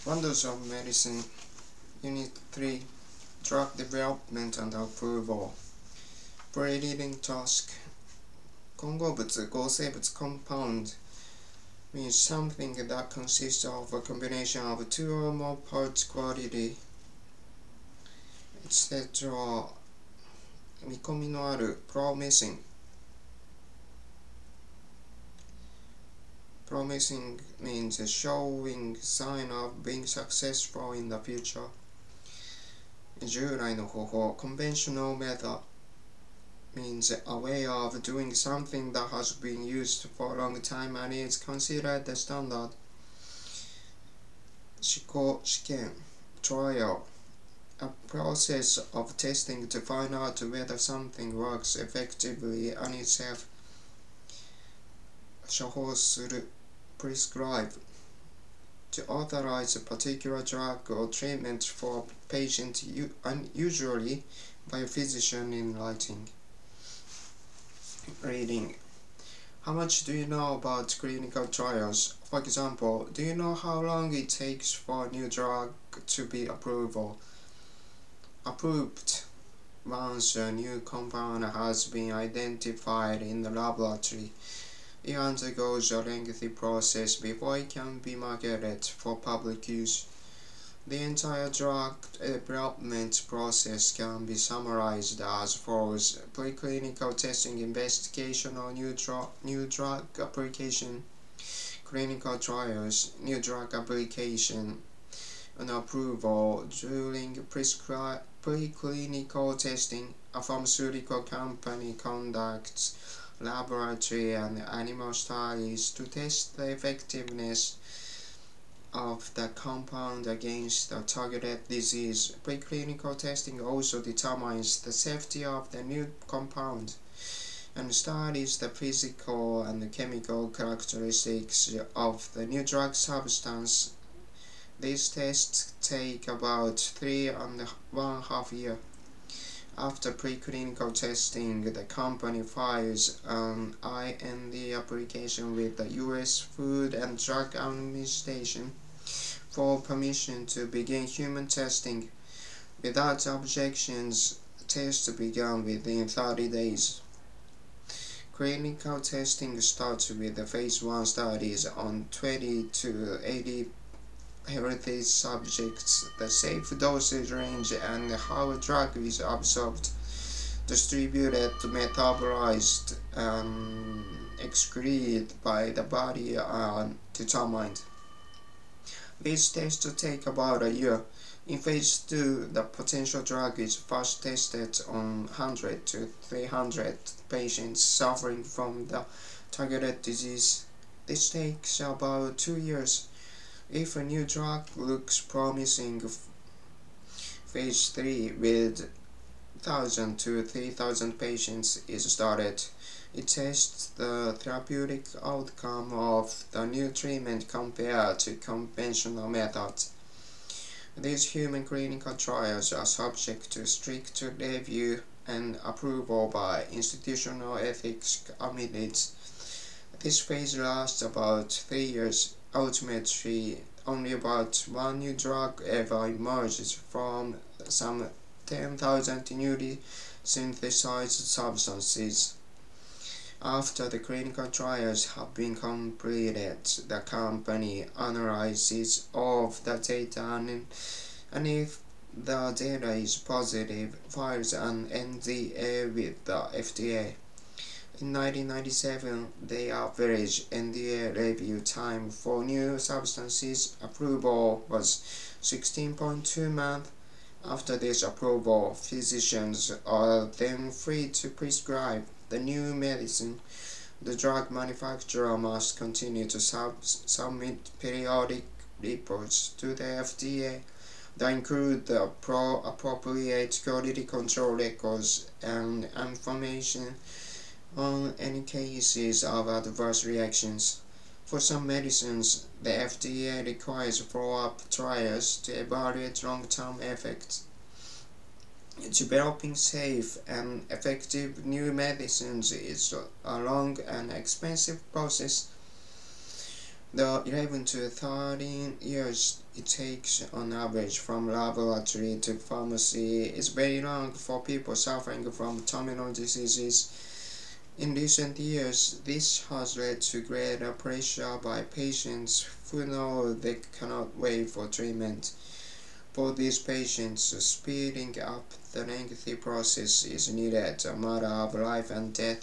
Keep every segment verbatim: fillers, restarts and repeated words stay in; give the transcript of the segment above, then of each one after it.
Wonders of Medicine, Unit three, Drug Development and Approval. Pre-reading task. 混合物、合成物 compound means something that consists of a combination of two or more parts quality, et cetera. 見込みのある promising. Promising means showing sign of being successful in the future. 従来の方法 conventional method means a way of doing something that has been used for a long time and is considered the standard. 試行試験 trial, a process of testing to find out whether something works effectively on itself. 処方する prescribe, to authorize a particular drug or treatment for a patient, usually by a physician in writing. Reading. How much do you know about clinical trials? For example, do you know how long it takes for a new drug to be approved? Approved once a new compound has been identified in the laboratory. It undergoes a lengthy process before it can be marketed for public use. The entire drug development process can be summarized as follows: preclinical testing, investigation or new, dro new drug application, clinical trials, new drug application, and approval. During preclinical testing, a pharmaceutical company conducts laboratory and animal studies to test the effectiveness of the compound against the targeted disease. Preclinical testing also determines the safety of the new compound and studies the physical and chemical characteristics of the new drug substance. These tests take about three and one half years. After preclinical testing, the company files an I N D application with the U S Food and Drug Administration for permission to begin human testing. Without objections, tests begin within thirty days. Clinical testing starts with the phase one studies on twenty to eighty healthy subjects. The safe dosage range and how a drug is absorbed, distributed, metabolized, and excreted by the body are determined. These tests take about a year. In phase two, the potential drug is first tested on one hundred to three hundred patients suffering from the targeted disease. This takes about two years. If a new drug looks promising, phase three with one thousand to three thousand patients is started. It tests the therapeutic outcome of the new treatment compared to conventional methods. These human clinical trials are subject to strict review and approval by institutional ethics committees. This phase lasts about three years. Ultimately, only about one new drug ever emerges from some ten thousand newly synthesized substances. After the clinical trials have been completed, the company analyzes all of the data and, and if the data is positive, files an N D A with the F D A. In nineteen ninety-seven, the average N D A review time for new substances approval was sixteen point two months. After this approval, physicians are then free to prescribe the new medicine. The drug manufacturer must continue to sub submit periodic reports to the F D A that include the pro appropriate quality control records and information on any cases of adverse reactions. For some medicines, the F D A requires follow-up trials to evaluate long-term effects. Developing safe and effective new medicines is a long and expensive process. The eleven to thirteen years it takes on average from laboratory to pharmacy is very long for people suffering from terminal diseases. In recent years, this has led to greater pressure by patients who know they cannot wait for treatment. For these patients, speeding up the lengthy process is needed, a matter of life and death.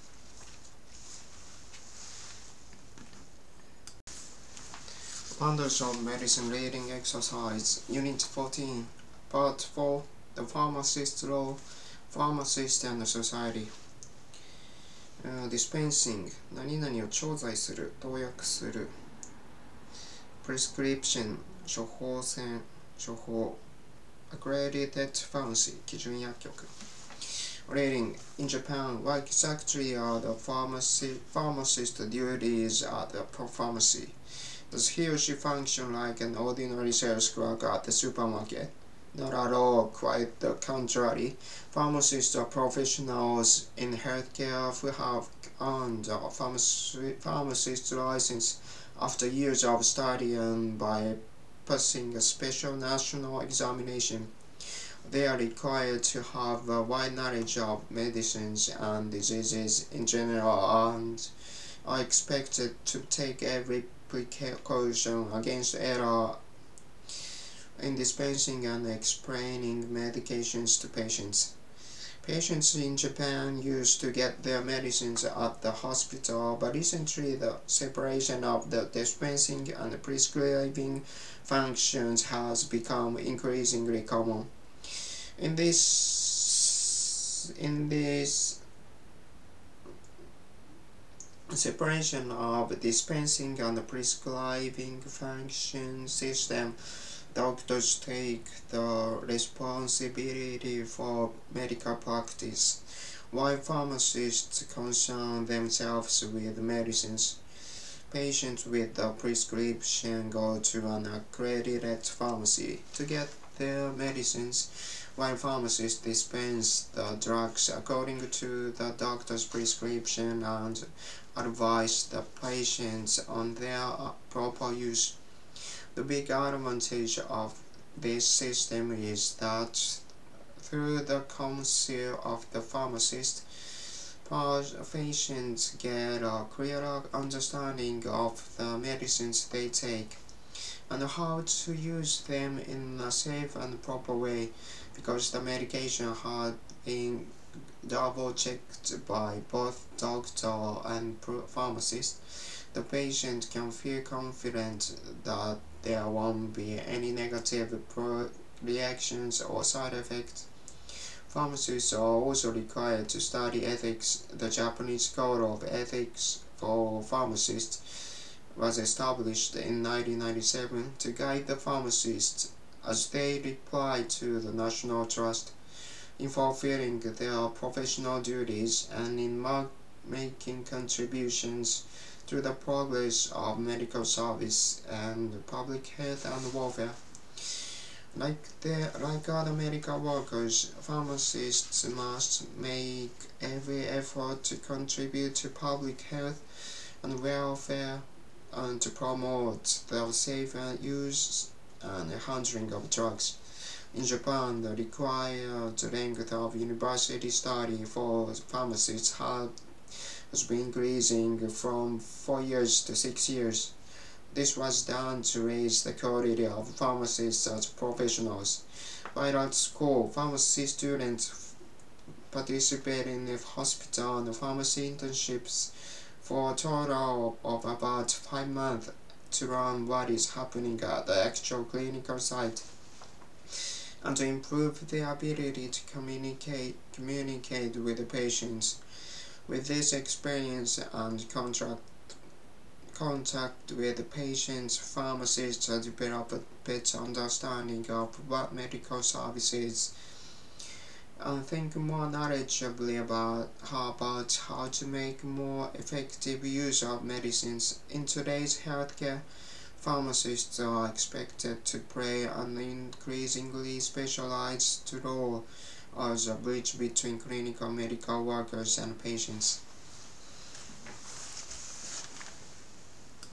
Bundles of Medicine Reading Exercise, Unit fourteen, Part four, The Pharmacist Role, Pharmacist and Society. Uh, dispensing 何々を調剤する、投薬する。Prescription 処方箋、処方。Accredited Pharmacy 基準薬局。Reading in Japan, what exactly are the pharmacy, pharmacist duties at the pharmacy? Does he or she function like an ordinary sales clerk at the supermarket? Not at all, quite the contrary. Pharmacists are professionals in healthcare who have earned a pharmacist license after years of study and by passing a special national examination. They are required to have a wide knowledge of medicines and diseases in general and are expected to take every precaution against error in dispensing and explaining medications to patients. Patients in Japan used to get their medicines at the hospital, but recently the separation of the dispensing and prescribing functions has become increasingly common. In this, in this separation of dispensing and prescribing function system, doctors take the responsibility for medical practice, while pharmacists concern themselves with medicines. Patients with a prescription go to an accredited pharmacy to get their medicines, while pharmacists dispense the drugs according to the doctor's prescription and advise the patients on their proper use. The big advantage of this system is that through the counsel of the pharmacist, patients get a clearer understanding of the medicines they take and how to use them in a safe and proper way, because the medication had been double-checked by both doctor and pharmacist. The patient can feel confident that there won't be any negative reactions or side effects. Pharmacists are also required to study ethics. The Japanese Code of Ethics for Pharmacists was established in nineteen ninety-seven to guide the pharmacists as they reply to the national trust in fulfilling their professional duties and in making contributions to the progress of medical service and public health and welfare. Like, the, like other medical workers, pharmacists must make every effort to contribute to public health and welfare and to promote the safe use and handling of drugs. In Japan, the required length of university study for pharmacists has been increasing from four years to six years. This was done to raise the quality of pharmacists as professionals. While at school, pharmacy students participate in the hospital and pharmacy internships for a total of about five months to learn what is happening at the actual clinical site and to improve their ability to communicate, communicate with the patients. With this experience and contract contact with the patients, pharmacists develop a better understanding of what medical services and think more knowledgeably about how, about how to make more effective use of medicines. In today's healthcare, pharmacists are expected to play an increasingly specialized role as a bridge between clinical medical workers and patients.